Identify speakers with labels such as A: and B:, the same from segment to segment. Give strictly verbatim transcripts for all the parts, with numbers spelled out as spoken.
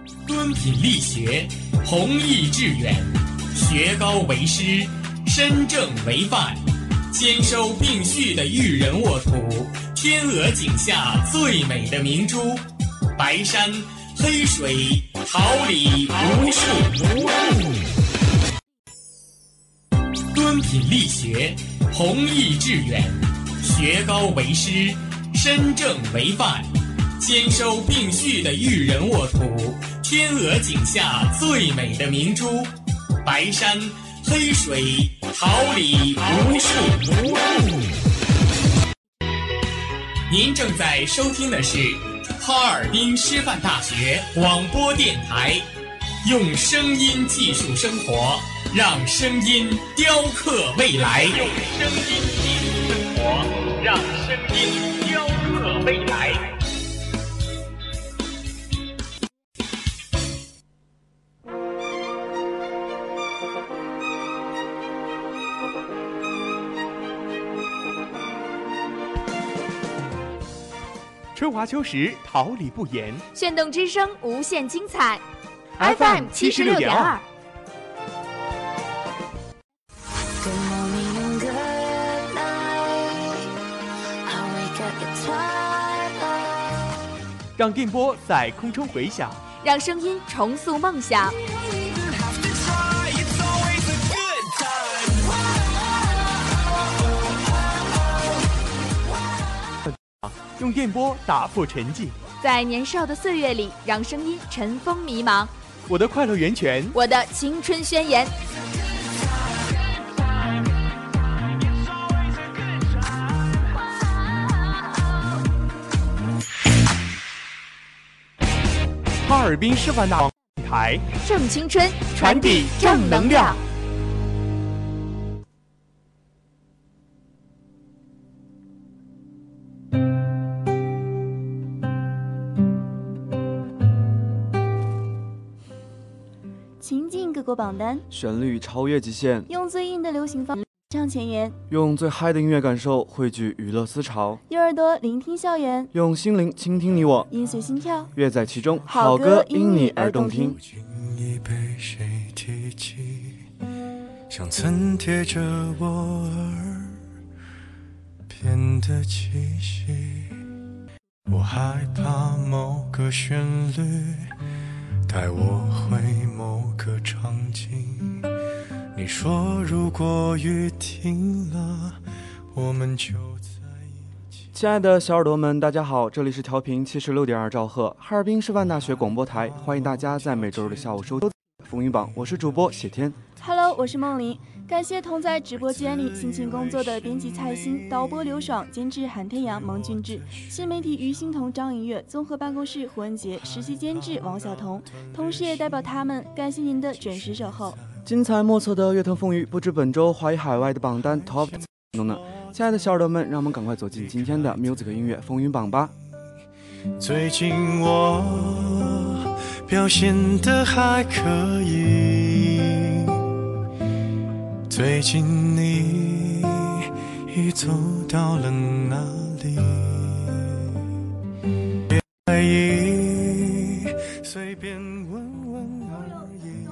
A: 敦品力学，弘毅致远，学高为师，身正为范，兼收并蓄的育人沃土，天鹅颈下最美的明珠，白山黑水，桃李无数无数。敦品力学，弘毅致远，学高为师，身正为范，兼收并蓄的育人沃土，天鹅颈下最美的明珠，白山黑水，桃李无数无数。您正在收听的是哈尔滨师范大学广播电台，用声音技术生活，让声音雕刻未来。用声音技术生活，让声音雕刻未来。
B: 春华秋实，桃李不言。
C: 炫动之声，无限精彩。F M 七十六点二。
B: 让电波在空中回响，
C: 让声音重塑梦想。
B: 用电波打破沉寂，
C: 在年少的岁月里，让声音尘封迷茫。
B: 我的快乐源泉，
C: 我的青春宣言。
B: 哈尔滨师范大学电台，
C: 正青春，
B: 传递正能量。
D: 情境各国榜单，
E: 旋律超越极限，
D: 用最硬的流行方式唱前沿，
E: 用最嗨的音乐感受汇聚娱乐思潮，
D: 用耳朵聆听校园，
E: 用心灵倾听你我，
D: 音随心跳，
E: 乐在其中，
D: 好歌因你而动听。
F: 已被谁提起，像曾贴着我耳边的气息，我害怕某个旋律带我回某个场景，你说如果雨停了，我们就在一起。
E: 亲爱的小耳朵们，大家好，这里是调频七十六点二兆赫哈尔滨师范大学广播台，欢迎大家在每周日的下午收听风云榜，我是主播谢天。
D: Hello， 我是梦玲。感谢同在直播间里辛勤工作的编辑蔡欣、导播刘爽、监制韩天阳、蒙俊志、新媒体于欣彤、张颖月、综合办公室胡文杰、实习监制王晓彤，同时也代表他们感谢您的准时守候。
E: 精彩莫测的乐坛风雨，不知本周华语海外的榜单 Top 中呢？亲爱的小耳朵们，让我们赶快走进今天的 Music 音乐风云榜吧。
F: 最近我表现得还可以，最近你已走到了哪里？别在意，随便问问而已。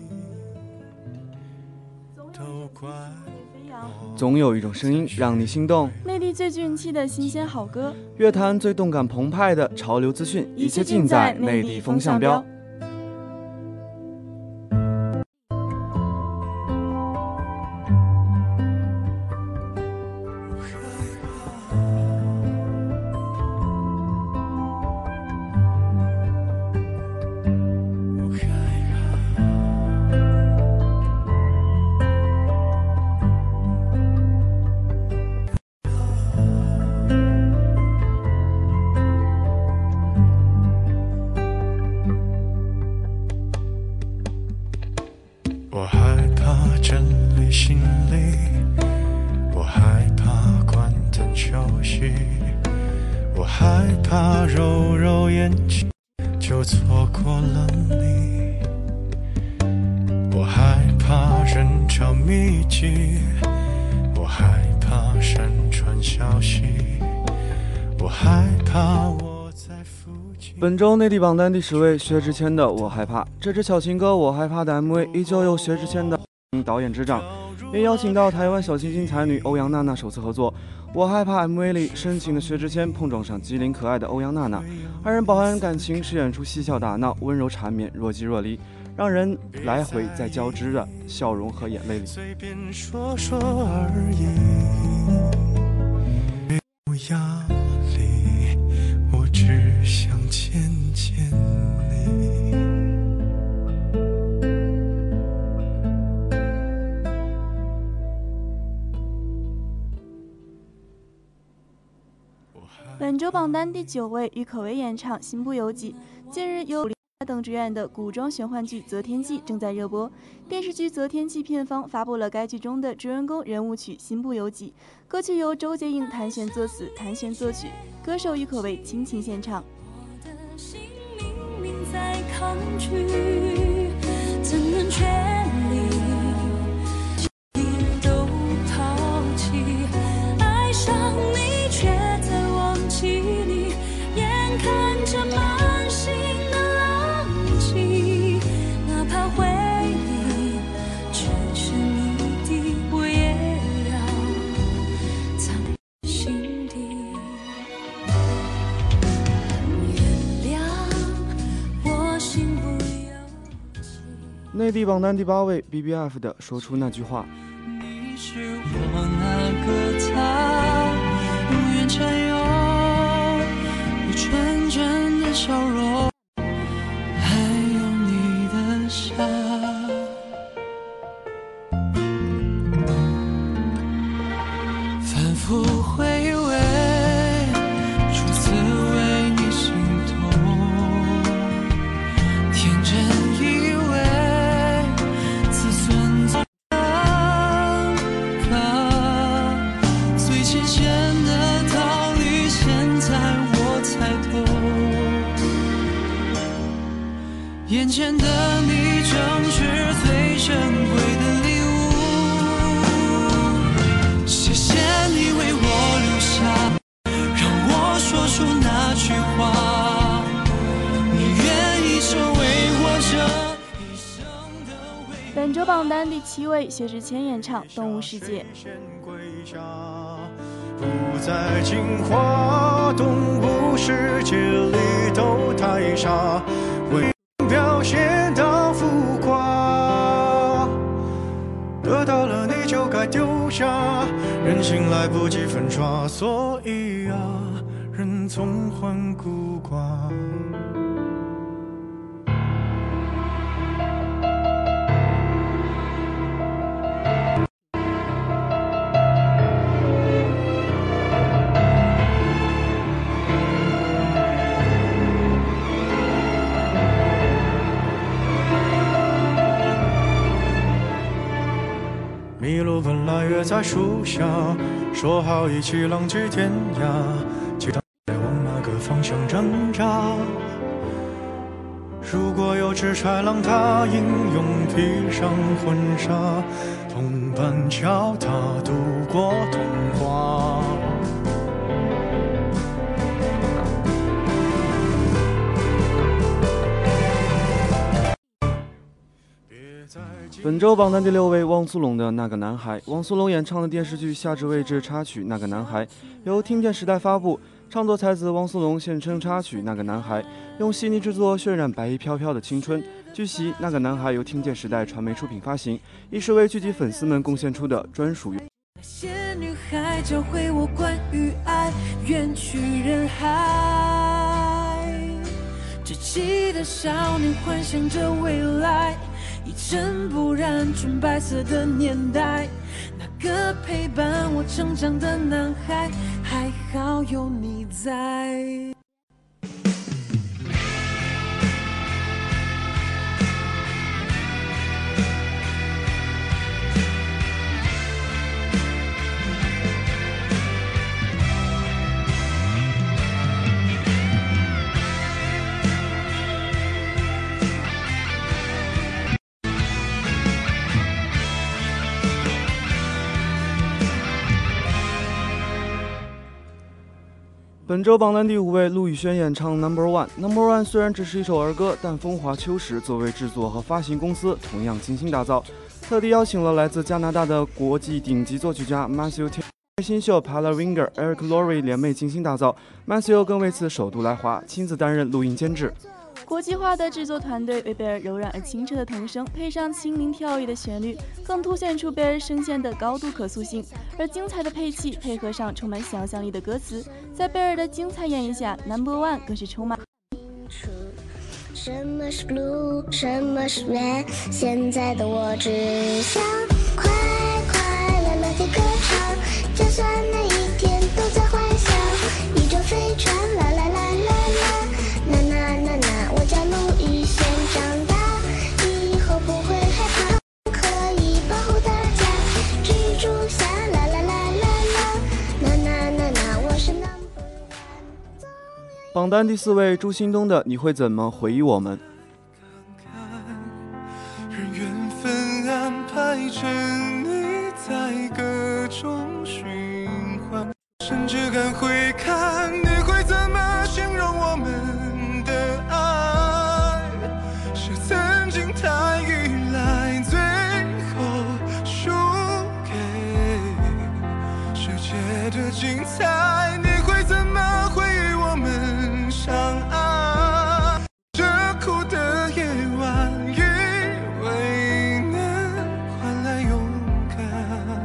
F: 都怪我。
E: 总有一种声音让你心动，
D: 内地最具人气的新鲜好歌，
E: 乐坛最动感澎湃的潮流资讯，一切尽在内地风向标。
F: 我害怕整理行李，我害怕关灯休息，我害怕揉揉眼睛就错过了你，我害怕人潮密集，我害怕山川消息，我害怕我在附近
E: 本周内地榜单第十位，薛之谦的《我害怕》。这支小情歌《我害怕》的 M V 依旧由薛之谦的导演执掌，也邀请到台湾小清新才女欧阳娜娜首次合作。《我害怕》M V 里深情的薛之谦碰撞上机灵可爱的欧阳娜娜，二人饱含感情，饰演出嬉笑打闹、温柔缠绵、若即若离，让人来回在交织的笑容和眼泪里。
F: 随便说说而已，没有压力，我只想牵牵你。
D: 本周榜单第九位，郁可唯演唱《心不由己》。近日由等主演的古装玄幻剧《择天记》正在热播，电视剧《择天记》片方发布了该剧中的主人公人物曲《心不由己》，歌曲由周洁莹弹弦作词，弹弦作曲，歌手郁可唯倾情献唱。
G: 我的心明明在抗拒，怎能全力都抛弃？爱上你却在忘记你，眼看着满心的浪迹，哪怕回忆只是谜底，我也要藏在心底。原谅我心不由己。
E: 内地榜单第八位 B B F 的说出那句话。
F: 你是我那个他，永远缠有你纯真的笑容，还有你的傻。反复回味，初次为你心痛，天真以为自尊最最浅显的道理，现在我才懂。眼前的你正是最珍贵的礼物，谢谢你为我留下，让我说出那句话。你愿意成为我这一生的唯一。
D: 本周榜单第七位，薛之谦演唱《动物世界》。
F: 不再进化，动物世界里都太傻，为表现到浮夸，得到了你就该丢下，人心来不及粉刷，所以啊，人总患孤寡。麋鹿本来约在树下，说好一起浪迹天涯，期待在往哪个方向挣扎。如果有只豺狼，它英勇披上婚纱，同伴教它度过童话。
E: 本周榜单第六位，汪苏泷的那个男孩。汪苏泷演唱的电视剧《夏至未至》插曲《那个男孩》由听见时代发布，唱作才子汪苏泷现称插曲《那个男孩》，用细腻制作渲染白衣飘飘的青春。据悉，《那个男孩》由听见时代传媒出品发行，亦是为聚集粉丝们贡献出的专属。
G: 那些女孩教会我关于爱，远去人海，稚气的少年幻想着未来，一尘不染纯白色的年代，那个陪伴我成长的男孩，还好有你在。
E: 本本周榜单第五位，陆宇轩演唱 Number One。Number One 虽然只是一首儿歌，但风华秋实作为制作和发行公司同样精心打造，特地邀请了来自加拿大的国际顶级作曲家 Matthew Taylor、新秀 Paula Winger、Eric Lowry 联袂精心打造。Matthew 更为此首度来华，亲自担任录音监制。
D: 国际化的制作团队为贝尔柔软而清澈的童声配上轻灵跳跃的旋律，更凸显出贝尔声线的高度可塑性。而精彩的配器配合上充满想象力的歌词，在贝尔的精彩演绎下 ，Number One 更是充满。
H: 什么是 blue， 什么是 red？ 现在的我只想快快乐乐地歌唱，就算每一天都在幻想，宇宙飞船，啦啦啦啦啦，啦啦啦啦，我叫陆宇轩，长大以后不会害怕，可以保护大家，蜘蛛侠，啦啦啦啦啦，啦啦啦啦，我是 number one。
E: 榜单第四位，朱新东的《你会怎么回忆我们》。
F: 让缘分安排着你在各种循环，甚至敢回看，你会怎么形容我们的爱？是曾经太依赖，最后输给世界的精彩。你会怎么回忆我们相爱？这苦的夜晚，以为能换来勇敢。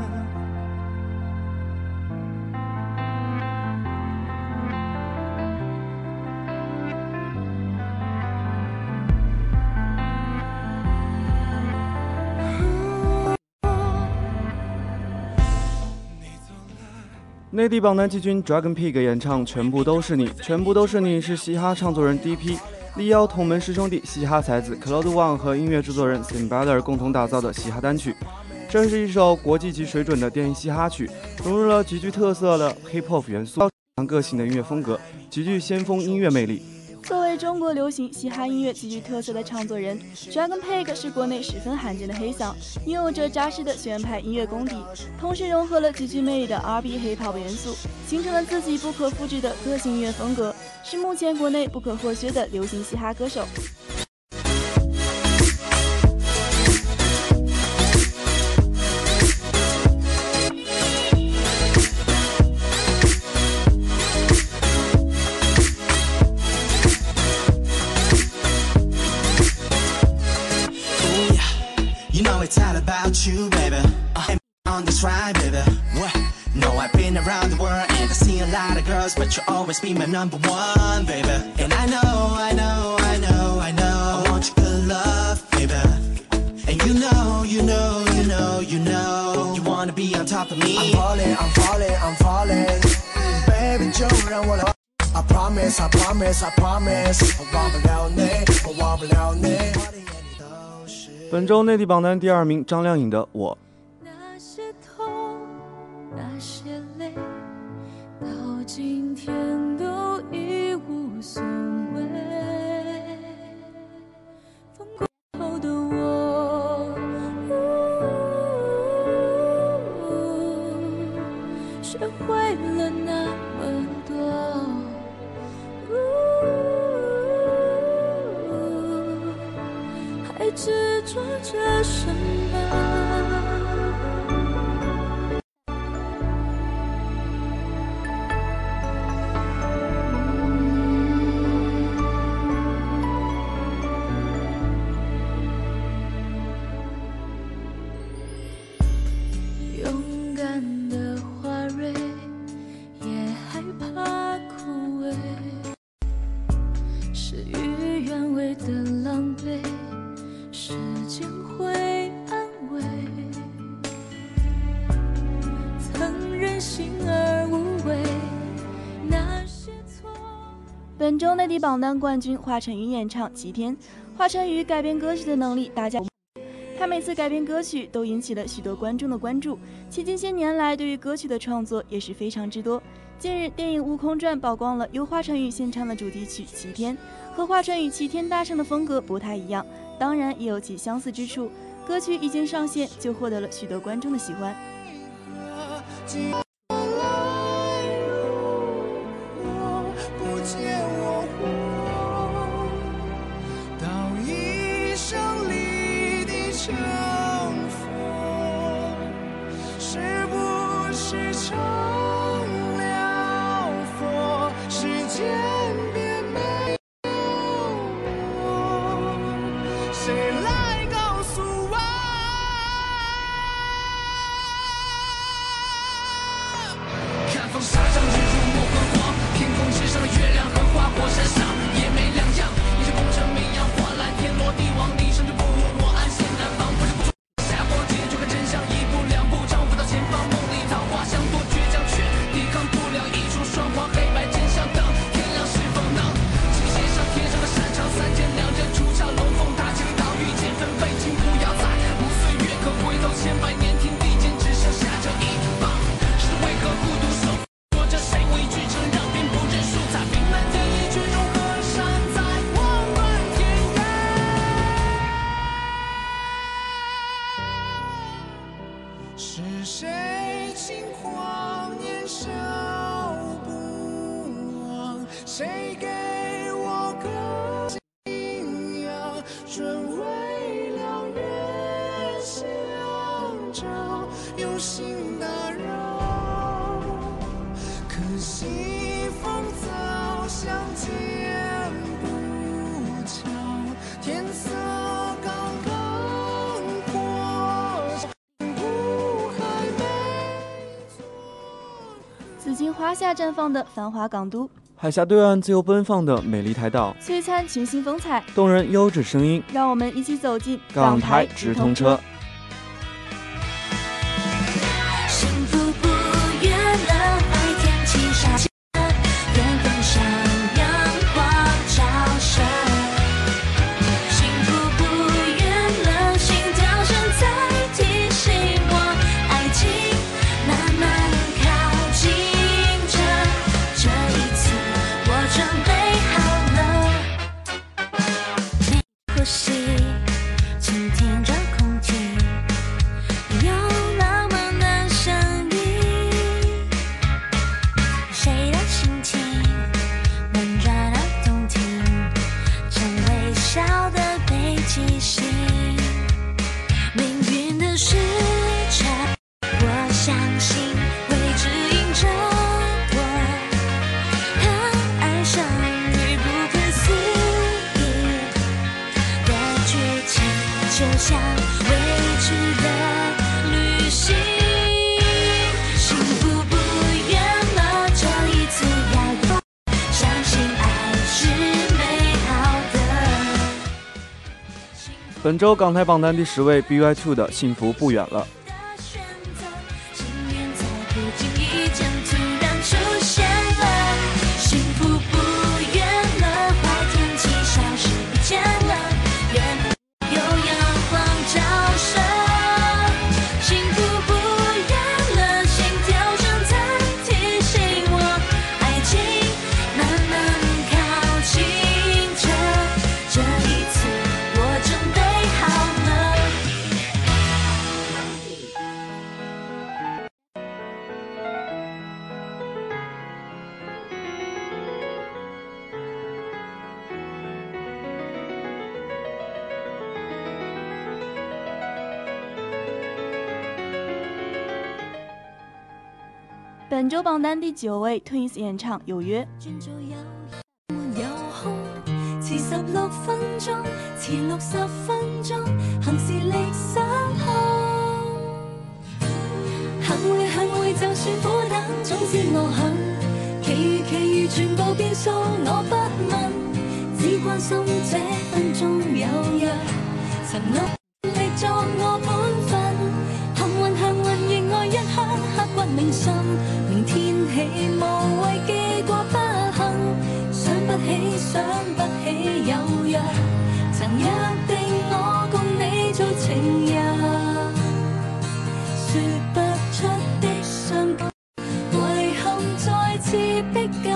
E: 内地榜单季军 Dragon Pig 演唱《全部都是你》，全部都是你是嘻哈唱作人 D P 力邀同门师兄弟嘻哈才子 Claude Wang 和音乐制作人 Simbaler 共同打造的嘻哈单曲。这是一首国际级水准的电音嘻哈曲，融入了极具特色的 Hip Hop 元素，强个性的音乐风格，极具先锋音乐魅力。
D: 作为中国流行嘻哈音乐极具特色的唱作人 ，Dragon Pig 是国内十分罕见的黑嗓，拥有着扎实的学院派音乐功底，同时融合了极具魅力的 R B Hip Hop 元素，形成了自己不可复制的个性音乐风格，是目前国内不可或缺的流行嘻哈歌手。
I: It's all about you, baby. Uh, on this ride, baby. What? No, I've been around the world and I've seen a lot of girls, but you'll always be my number one, baby. And I know, I know, I know, I know, I want your good love, baby. And you know, you know, you know, you know, you wanna be on top of me.
J: I'm falling, I'm falling, I'm falling, baby, 就让我来。I promise, I promise, I promise. 我忘不了你，我忘不了你。
E: 本周内地榜单第二名，张靓颖的《我》。
G: 那些痛，那些泪，到今天都已无所谓。风过后的我，学会了那么多。还执着着什么？勇敢的花蕊也害怕枯萎，事与愿违的狼狈。时间会安慰，曾任性而无畏，那些错。
D: 本周内地榜单冠军华晨宇演唱《齐天》。华晨宇改编歌曲的能力大家，他每次改编歌曲都引起了许多观众的关注，其近些年来对于歌曲的创作也是非常之多。近日，电影《悟空传》曝光了由华晨宇献唱的主题曲《齐天》，和华晨宇《齐天大圣》的风格不太一样。当然也有其相似之处，歌曲一经上线就获得了许多观众的喜欢。
J: 谁来告诉我？
K: 看风沙上日出莫昏黄，天空之上的月亮和花果山上也没两样。你是功成名扬，花烂天落地亡，你胜就不如我安心南方。不是不下火结就看真相，一步两步丈夫到前方，梦里桃花香多倔强，却抵抗不了一出双黄，黑白真相等天亮是否能请写上天上的擅长，三剑两刃出鞘龙凤塔，千里岛遇见分贝，请不要在无岁月可回头千百年，天地间只剩下这一棒，是为何孤独守说着谁畏惧成让兵不认输，在冰冷天意却融合山在温暖天涯。
J: 是谁轻狂年少不忘？谁给我个信仰？纯为了月相照，有心打扰。可惜风早相见不巧，天色刚刚过。
D: 紫荆华夏绽放的繁华港都，
E: 海峡对岸自由奔放的美丽台岛，
D: 璀璨群星风采，
E: 动人优质声音，
D: 让我们一起走进
E: 港台直通车。
L: 幸福不远了，白天气下远方向阳光照射。幸福不远了，心跳声在提醒我，爱情慢慢靠近着。这一次我准备好了，每呼吸倾听着空气，有浪漫的声音，谁的心情温暖而动听，曾微笑的北极星，命运的时辰，我相信会指引着我，和爱相遇不可思议的剧情，就像未知的旅行。幸福不远了，这一次要有相信爱是美好的。
E: 本周港台榜单第十位 B Y two 的《幸福不远了》。
L: 幸运在不经意间突然出现了，幸福不远了，坏天气消失不见了，远方有阳光照射。幸福不远了，心跳声在提醒我，爱情慢慢靠近着。这一次我准备好了。
D: 本周榜单第九位 Twins 演唱《有約》。
L: 轉做有沒有空，遲十六分鐘，遲六十分鐘，行事力失控。行會行會，就算苦等，總之我肯。其餘其餘全部變數，我不問，只關心這分鐘有約。曾努力作我本分，幸運幸運亦愛一刻刻骨銘心。明天起無謂記掛不幸，想不起想不起有約，曾約定我共你做情人，說不出的傷感，遺憾再次逼近，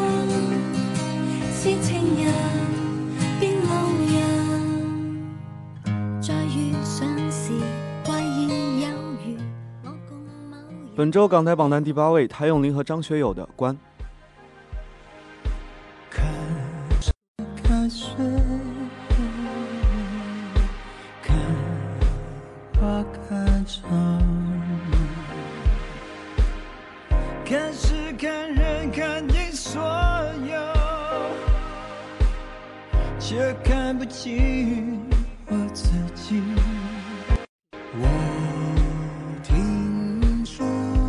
L: 是情人變路人，再遇上時怪現有緣。
E: 本周港台榜单第八位，谭咏麟和张学友的《关》。
F: 看看水，看花开长，看事看人看尽所有，却看不清我自己。我听说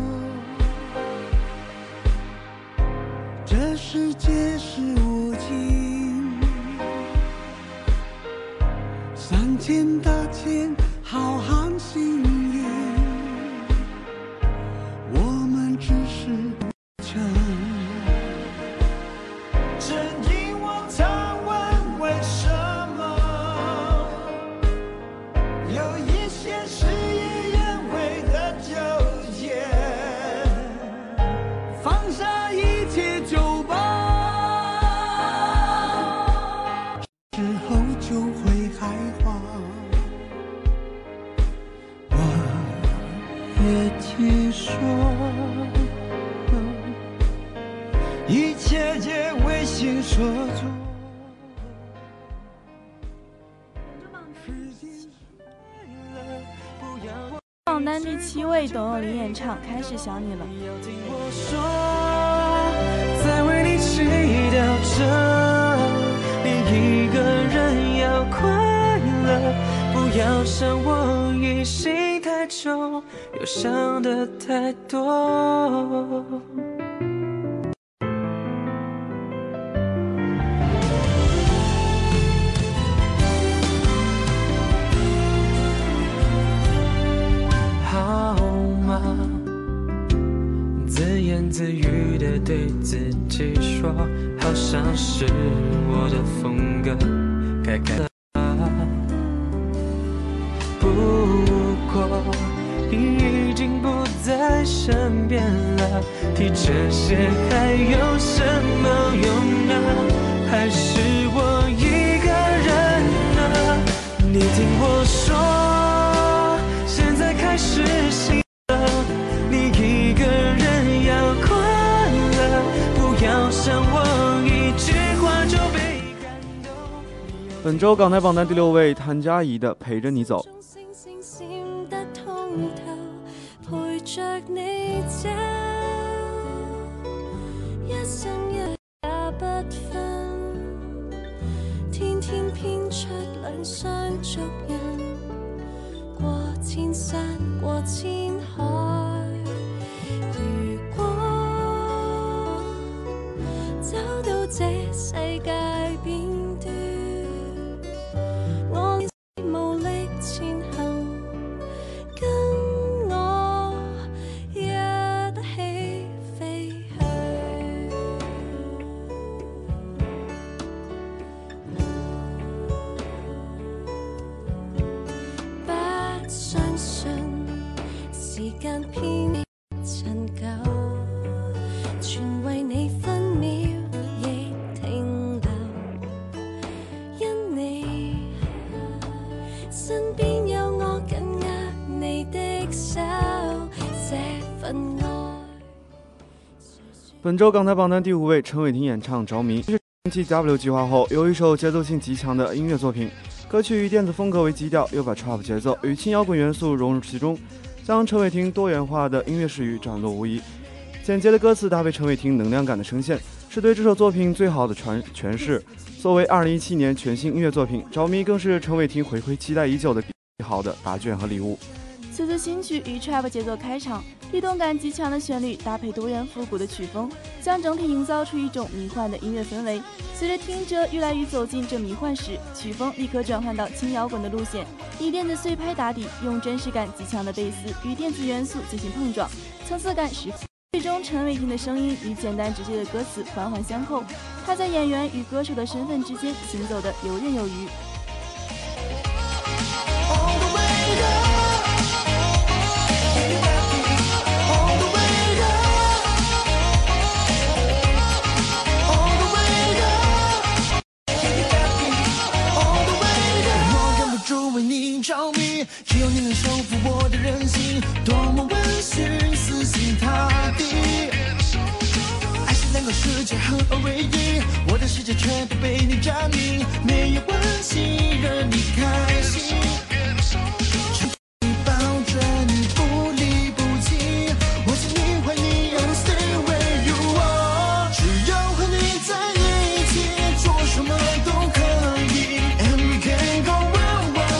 F: 这世界是无尽，三千大千浩瀚星云，我们只是尘。
J: 正因我常问为什么，有一些事与愿违的纠结，
F: 放下一切就吧，之后就会开花。我也听说，
J: 一切皆为心所作。
D: 榜单第七位，董又霖演唱《开始想你了》。
F: 听我说，在为你祈祷着，你一个人要快乐，不要想我疑心太重，又想的太多。自言自语地对自己说，好像是我的风格，该改了。不过你已经不在身边了，提这些还有什么用呢？还是我一个人呢？你听我说，现在开始醒了，你一个人要快乐，不要想我一句话就被感动。
E: 本周港台榜单第六位，谭嘉怡的《陪着你走》。
L: 陪着你走，一生一也不分，天天編出兩雙足印，過千山過千海。如果走到這世界邊端，我無力前行，跟我一起飛去。不相信時間偏陳舊，全為你分秒亦停留，因你身邊有我緊握你的手，這份愛。
E: 本周港台榜单第五位，陈伟霆演唱《着迷》。这是继 W 计划后有一首节奏性极强的音乐作品，歌曲以电子风格为基调，又把 trap 节奏与轻摇滚元素融入其中，将陈伟霆多元化的音乐视域展露无遗。简洁的歌词搭配陈伟霆能量感的声线，是对这首作品最好的诠诠释。作为二零一七年全新音乐作品，《着迷》更是陈伟霆回归期待已久的最好的答卷和礼物。
D: 此次新曲以 trap 节奏开场，律动感极强的旋律搭配多元复古的曲风，将整体营造出一种迷幻的音乐氛围。随着听者愈来愈走进这迷幻时，曲风立刻转换到轻摇滚的路线，以电子碎拍打底，用真实感极强的贝斯与电子元素进行碰撞，层次感十足。最终陈伟霆的声音与简单直接的歌词环环相扣，他在演员与歌手的身份之间行走的游刃有余。
J: 为你着迷，只有你能收服我的任性，多么温驯，死心塌地。爱是两个世界合二为一，我的世界全都被你占领，没有关系，任你开心。你抱着你不离不弃，我想你怀你要 stay with you， 只要和你在一起，做什么都可以。And we can go round round。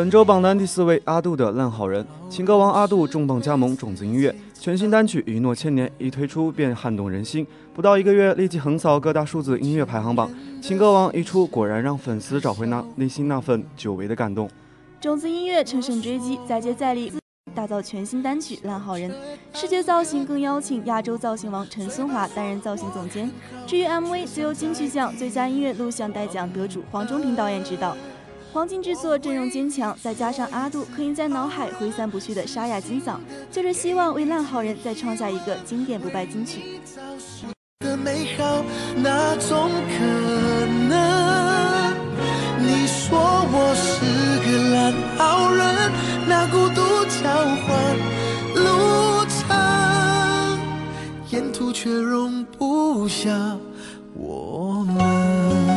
E: 本周榜单第四位，阿杜的《烂好人》。情歌王阿杜重磅加盟种子音乐，全新单曲《一诺千年》一推出便撼动人心，不到一个月立即横扫各大数字音乐排行榜。情歌王一出，果然让粉丝找回那内心那份久违的感动。
D: 种子音乐乘胜追击，再接再厉，打造全新单曲《烂好人》。视觉造型更邀请亚洲造型王陈松华担任造型总监。至于 M V， 则由金曲奖最佳音乐录像带奖得主黄忠平导演执导。黄金制作阵容坚强，再加上阿杜可以在脑海挥散不去的沙哑金嗓，就是希望为烂好人再创下一个经典不败金曲。
J: 的美好，哪种可能？你说我是个烂好人，那孤独交换路程，沿途却容不下我们。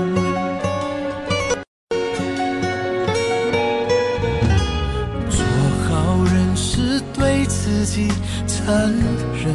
J: 对自己残忍，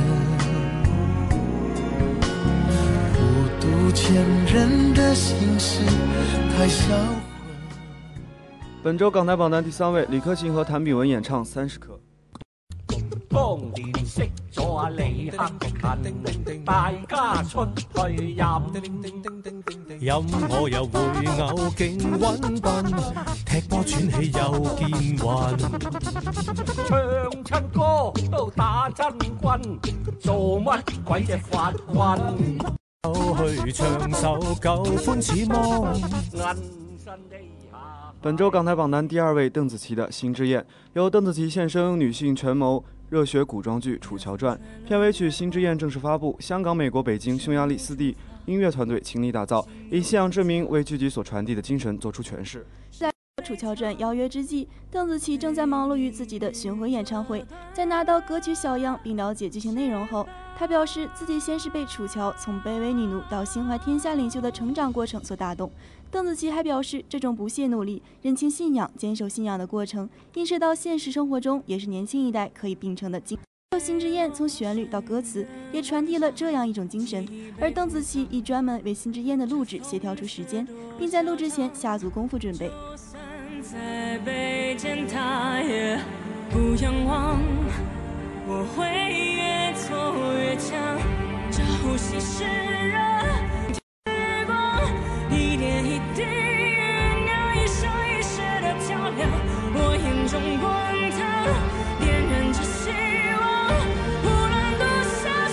J: 孤独前人的心事太销魂。
E: 本周港台榜单第三位，李克勤和谭炳文演唱《三十克》。
M: 當年識咗阿李克勤，大家出去飲，飲我又會嘔勁揾笨，踢波喘氣又見暈，唱親歌都打真軍，做乜鬼隻法棍？去唱首舊歡似夢，銀身地下。
E: 本周港台榜单第二位，邓紫棋的《心之焰》，由邓紫棋现身女性权谋热血古装剧《楚乔传》，片尾曲《心之焰》正式发布，香港、美国、北京、匈牙利四地音乐团队倾力打造，以信仰之名为剧集所传递的精神做出诠释。
D: 在《楚乔传》邀约之际，邓紫棋正在忙碌于自己的巡回演唱会。在拿到歌曲小样并了解剧情内容后，她表示自己先是被楚乔从卑微女奴到心怀天下领袖的成长过程所打动。邓紫棋还表示，这种不懈努力、认清信仰、坚守信仰的过程，映射到现实生活中，也是年轻一代可以秉承的精神。心之焰从旋律到歌词，也传递了这样一种精神。而邓紫棋亦专门为心之焰的录制协调出时间，并在录制前下足功夫准备。
N: 再被践踏也不仰望，我会越挫越强，朝夕湿热时光，一点一滴酝酿一生一世的较量，我眼中滚烫，点燃着希望，无论多潇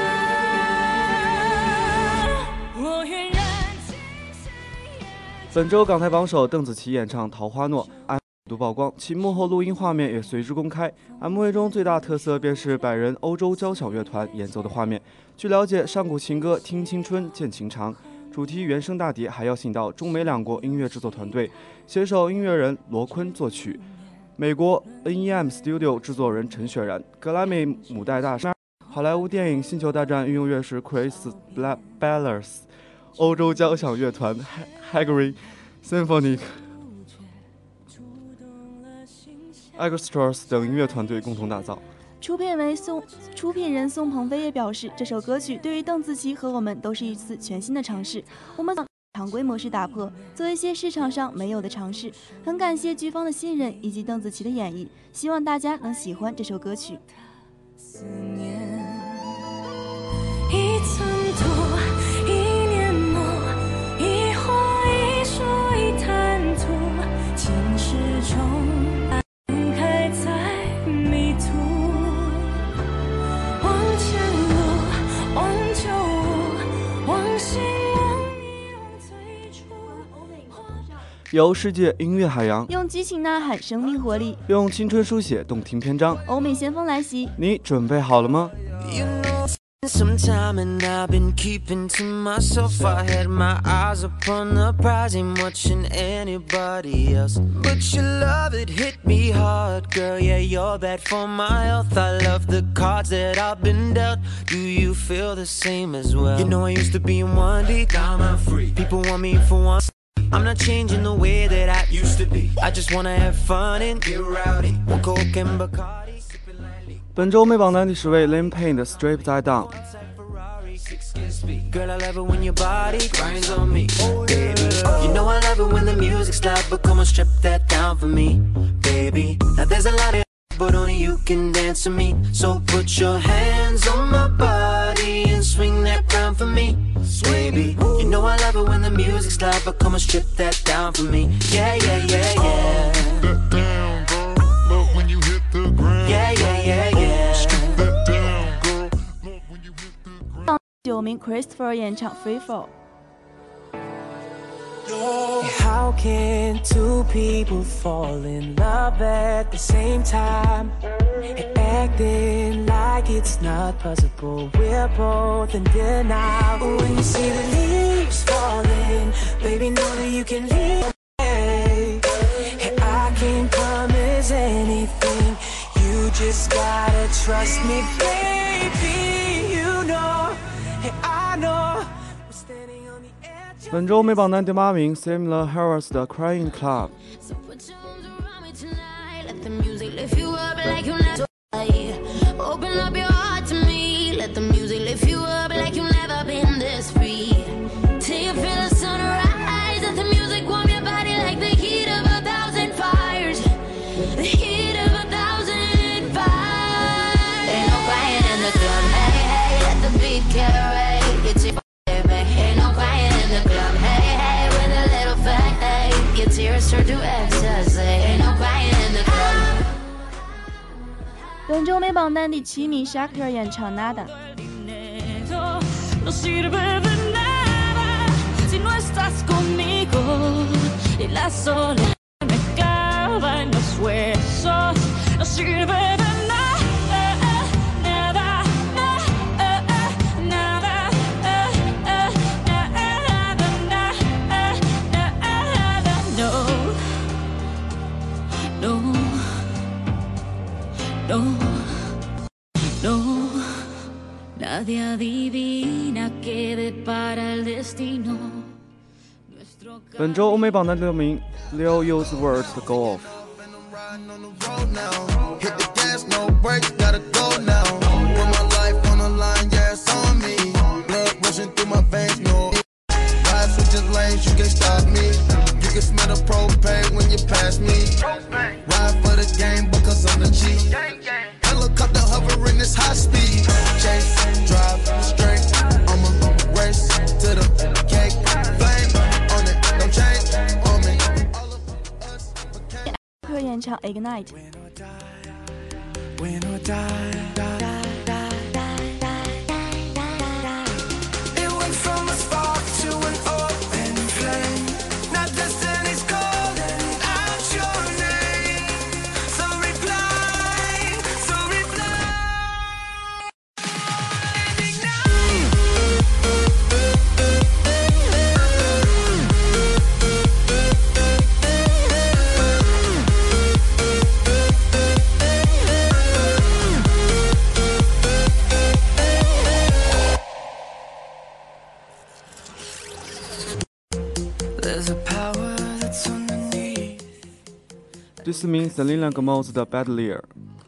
N: 洒，我愿燃尽心眼。
E: 本周港台榜首邓紫棋演唱《桃花诺》度曝光，其幕后录音画面也随之公开。M V 中最大特色便是百人欧洲交响乐团演奏的画面。据了解，上古情歌听青春见情长主题原声大碟还邀请到中美两国音乐制作团队，携手音乐人罗坤作曲，美国 N E M Studio 制作人陈雪然，格莱美母带大师，好莱坞电影《星球大战》御用乐师 Chris Ballers， 欧洲交响乐团 Hungary Symphonic Orchestras 等音乐团队共同打造。
D: 出品为宋出品人宋鹏飞也表示，这首歌曲对于邓紫棋和我们都是一次全新的尝试，我们常规模式打破，做一些市场上没有的尝试。很感谢剧方的信任以及邓紫棋的演绎，希望大家能喜欢这首歌曲。
N: 思念一层土，一年末，一花一树一滩土，情始终开在迷途，往前路，往旧物，往新往你往最初。
E: 由世界音乐海洋
D: 用激情呐喊生命活力，
E: 用青春书写动听篇章。
D: 欧美先锋来袭，
E: 你准备好了吗？
O: You know, some time and I've been keeping to myself. I had my eyes upon the prize, ain't watching anybody else. But your love, it hit me hard, girl. Yeah, you're bad for my health. I love the cards that I've been dealt. Do you feel the same as well? You know I used to be in one deep. Now I'm free. People want me for one. I'm not changing the way that I used to be. I just wanna have fun and get rowdy. One Coke and Bacardi.
E: 本周美榜单第十位 Liam Payne 的 Straight Down。
O: Girl, I love it when your body grinds on me. Baby, You know I love it when the music's loud, but come on, strip that down for me, baby. Now there's a lot of but only you can dance to me. So put your hands on my body and swing that round for me, baby. You know I love it when the music's loud, but come on, strip that down for me. Yeah, yeah, yeah, yeah.
P: That down, girl. Love when you hit the ground.
O: Yeah, yeah, yeah, yeah.
P: Strip that down, girl. Love when you hit the ground.
D: 九名 Christopher 演唱 Free Fall。
Q: How can two people fall in love at the same time and acting like it's not possible? We're both in denial. When you see the leaves falling, baby, know that you can leave. And I can't promise anything. You just gotta trust me, baby. You know, and I know.
E: 本周美榜单第八名 Samuel Harris 的 Crying Club。
L: Open up your heart to me. Let the music lift you up like you've never been this free. Till you feel the sunrise. Let the music warm your body like the heat of a thousand fires. The heat of a thousand fires. Ain't no crying in the club. Hey, hey, let the beat carry. It's your baby. Ain't no crying in the club. Hey, hey, with a little fat. Hey, your tears turn to ecstasy. Ain't no crying in the club.
D: 本周美榜单第七名 Shakira 演唱 Nada。
N: No sirve de nada si no estás conmigo y la soledad me clava en los huesos. No sirve de nada, nada, nada, nada, nada, no, no, no, no. Nadie adivina qué depara el destino.
E: 本周欧美榜单第六名 Lil Uzi Vert 的 Go Off。
J: Hit the gas, no brakes, gotta go now. Put my life on the line, yeah, it's on me. Blood rushing through my veins, no. Ride switching lanes, you can't stop me. You can smell the propane when you pass me. Ride for the game because I'm the G. Helicopter hovering this high speed. Chase, drive, straight. I'ma race to the cake. Flame on it, don't change on me.
D: 可演唱 Ignite。
Q: Win or die, die, die, die, die. It went from a spark to an open flame. Now destiny's calling out your name. So reply, so reply. There's a power that's underneath.
E: 第四名 Selena Gomez 的 Badlier。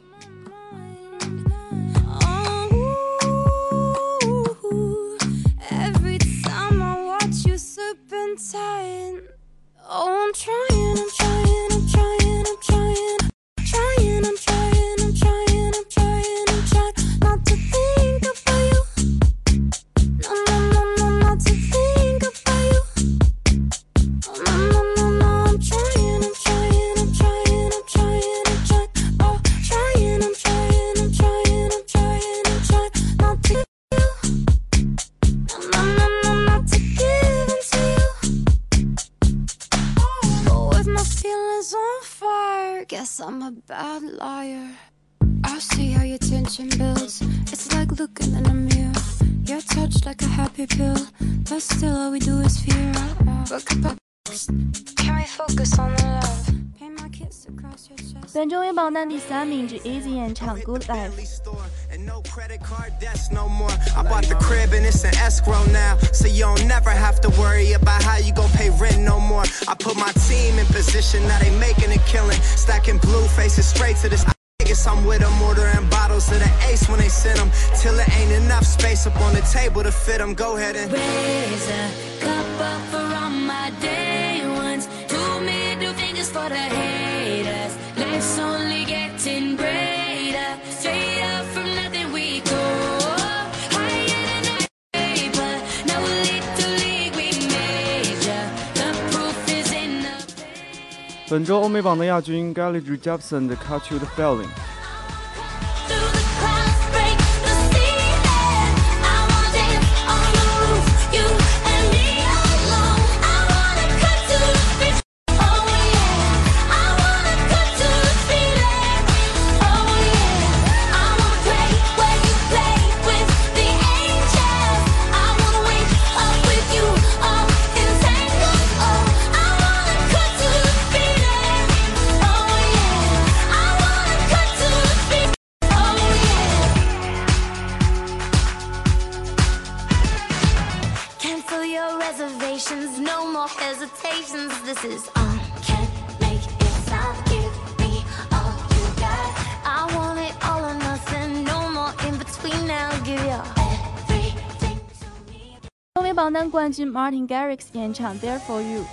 L: Every time I watch you serpentine. Oh, I'm trying, I'm trying, I'm trying, I'm trying. Trying, I'm trying, I'm trying, I'm trying, I'm trying not to think about you. No, no, no, no, not to think about you. Oh, no, no, no, no, I'm trying, I'm trying, I'm trying, I'm trying, I'm trying. Oh, trying, I'm trying, I'm trying, I'm trying, I'm trying not to you. No, no, no, no, not to give in to you. But with my feelings on fire, guess I'm a bad liar. I see how your tension builds. It's like looking in a mirror. You're touched like a happy pill, but still all we do is fear. But can we focus on the love? Paint my kiss across your chest.
D: 本周美榜单第三名是 Easy 演唱 Good Life。
R: No credit card debts no more. I bought the crib and it's an escrow now, so you don't never have to worry about how you gon' pay rent no more. I put my team in position, now they making a killing, stacking blue faces straight to this Guess I'm with them, ordering bottles of the ace when they send them. Till it ain't enough space up on the table to fit them. Go ahead and
L: raise a cup up for all my day ones. Two middle fingers for the haters. Let's only get in greater. Straight up from nothing we go. Higher than that paper. Now a little league we major. The proof is in the
E: 本周欧美榜的亚军 Gallagher Jepsen 的 Catch You the Feeling。
L: No more hesitations. This is on. Can't make it stop. Give me all you got. I want it all or nothing. No more in between now. Give your everything to me.
D: 欧美榜单冠军 Martin Garrix 演唱 There for You。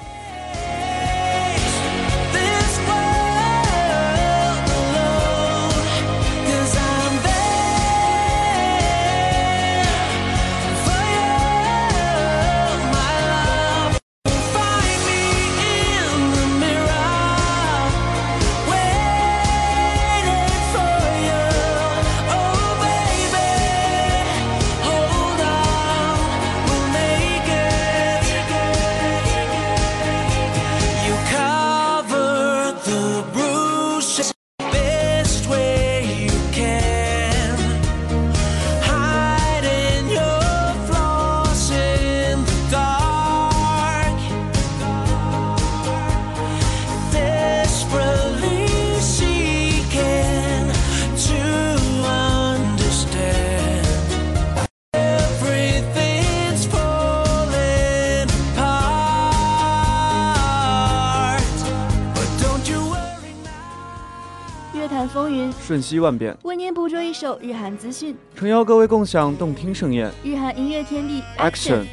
D: 风云
E: 瞬息万变，
D: 为您捕捉一首日韩资讯，
E: 诚邀各位共享动听盛宴。
D: 日韩音乐天地
E: Action。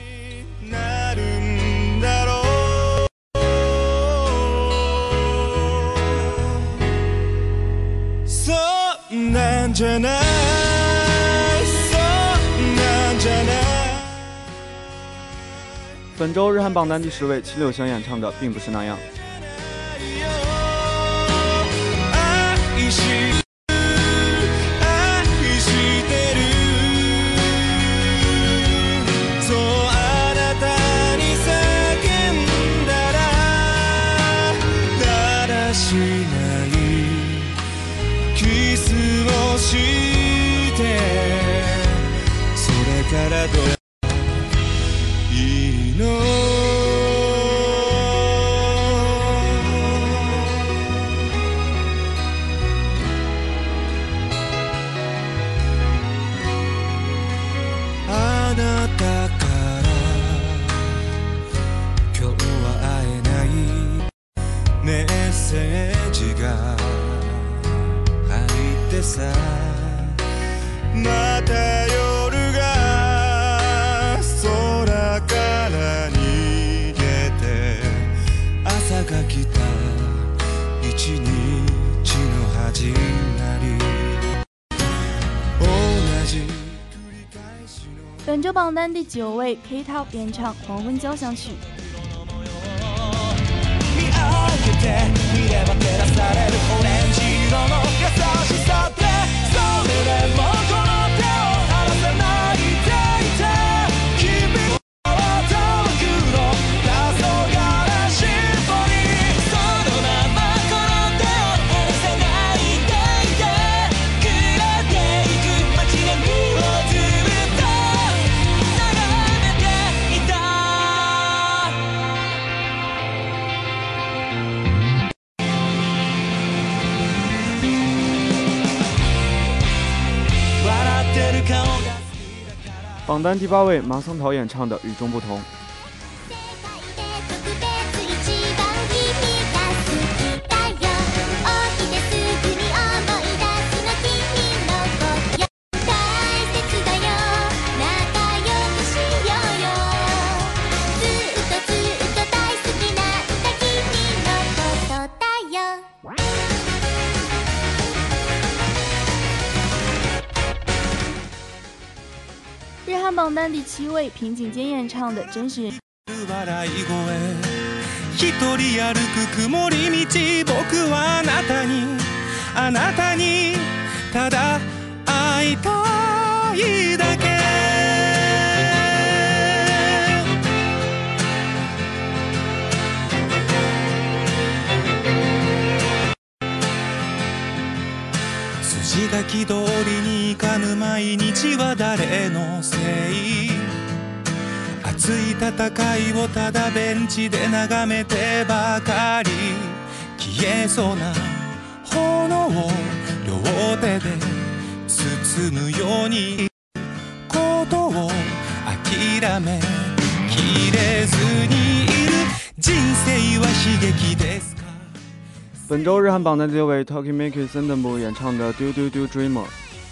E: 本周日韩榜单第十位，齐柳翔演唱的并不是那样。
D: 本周榜单第九位 K-Top 演唱《黄昏交响曲》。榜单第八位，马松桃演唱的《与众不同》。 汉榜单第七位，平井坚演唱的《真实人》。
F: 一人歩く曇り道僕はあなたにあなたにただ会いたいだけ筋書き通りにいかぬ毎日は誰のせい熱い戦いをただベンチで眺めてばかり消えそうな炎を両手で包むようにことを諦めきれずにいる人生は悲劇ですか。
E: 本周日韩榜单第六位 Talking Make It Sendenbu 演唱的 Do Do Do Dreamer。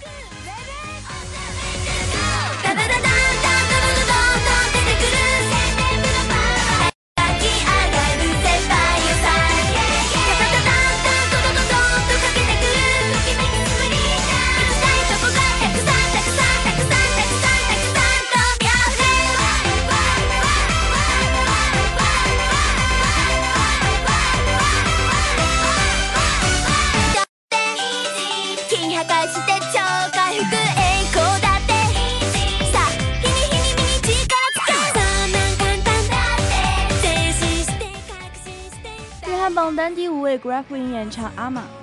D: 榜单第五位 Grapevine 演唱阿玛。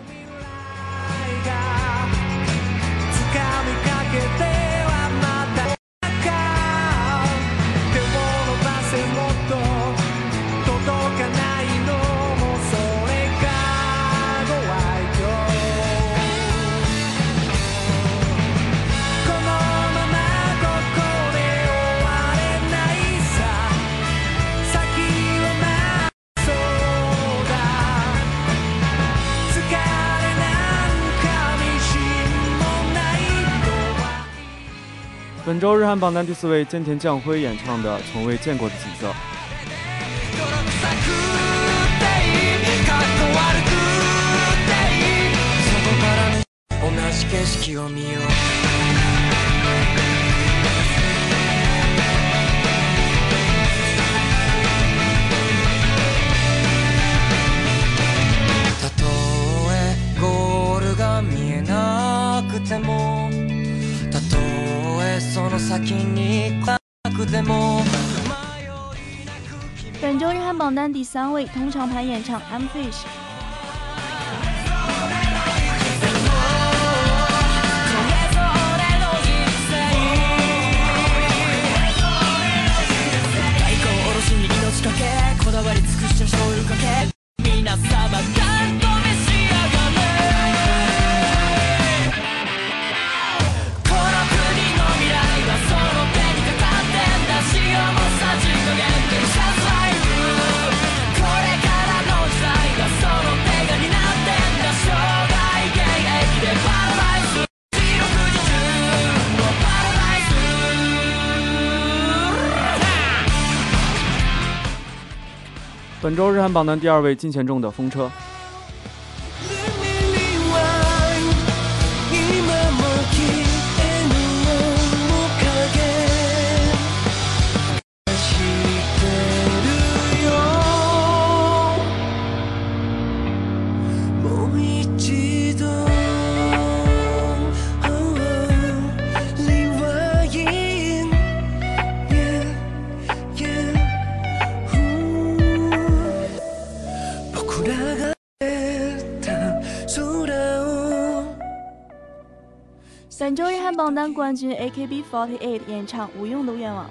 D: 本周日韩榜单第四位菅田将晖演唱的《从未见过的景色》。
O: たとえゴールが見えなくてもたとえその先になくても。
D: 本周日韩榜单第三位通常盘演唱 I'm Fish。こだわり尽くした醤油かけ皆様がんと召し上がれこの国の未来はその手にかかってんだ潮もさじ加減でシャツライフこれからの時代がその手が担ってんだ生涯現役でパラダイス四六時中のパラダイス
E: 本周日韩榜单第二位金贤重的风车。本周日韩榜单冠军 A K B 四十八 演唱《无用的愿望》。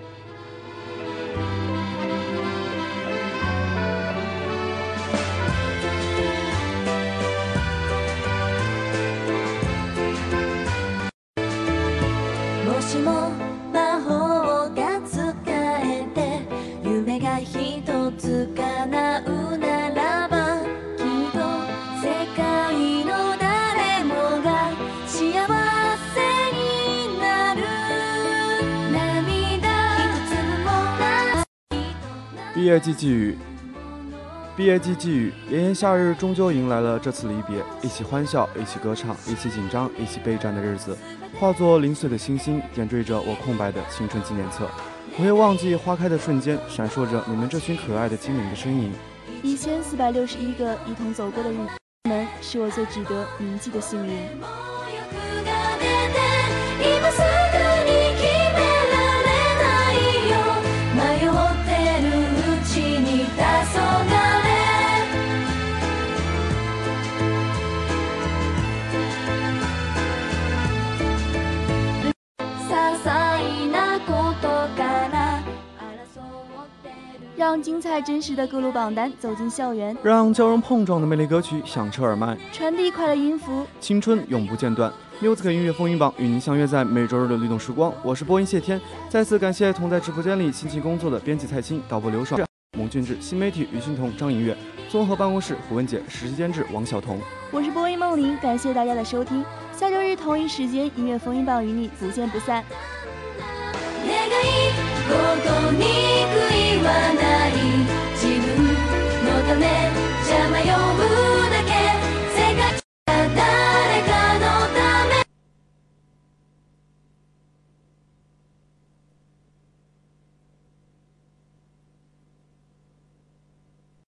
L: もしも魔法が使えて夢が一つ叶うならばきっと世界の誰もが幸せになる涙一粒もない
E: 毕业季寄语，毕毕业季寄语，炎炎夏日终究迎来了这次离别，一起欢笑，一起歌唱，一起紧张，一起备战的日子，化作零碎的星星，点缀着我空白的青春纪念册。不会忘记花开的瞬间，闪烁着你们这群可爱的精灵的身影。
D: 一千四百六十一个一同走过的日子们，是我最值得铭记的幸运。让精彩真实的各路榜单走进校园，
E: 让交融碰撞的魅力歌曲响彻耳麦，
D: 传递快乐音符，
E: 青春永不间断。Music 音乐风云榜与您相约在每周日的律动时光，我是播音谢天。再次感谢同在直播间里辛勤工作的编辑蔡青、导播刘爽、蒙俊志、新媒体于欣彤、张颖月、综合办公室胡文杰、实习监制王晓彤。
D: 我是播音梦玲，感谢大家的收听。下周日同一时间，音乐风云榜与你不见不散。ここに悔いはない自分のため